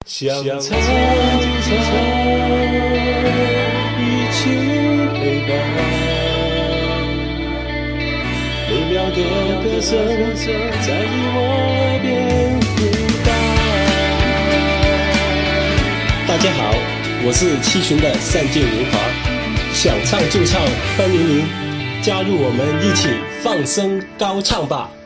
想唱就唱，一起陪伴，美妙的歌声在你我耳边回荡。大家好，我是七旬的单建年华，想唱就唱，欢迎您加入我们一起放声高唱吧。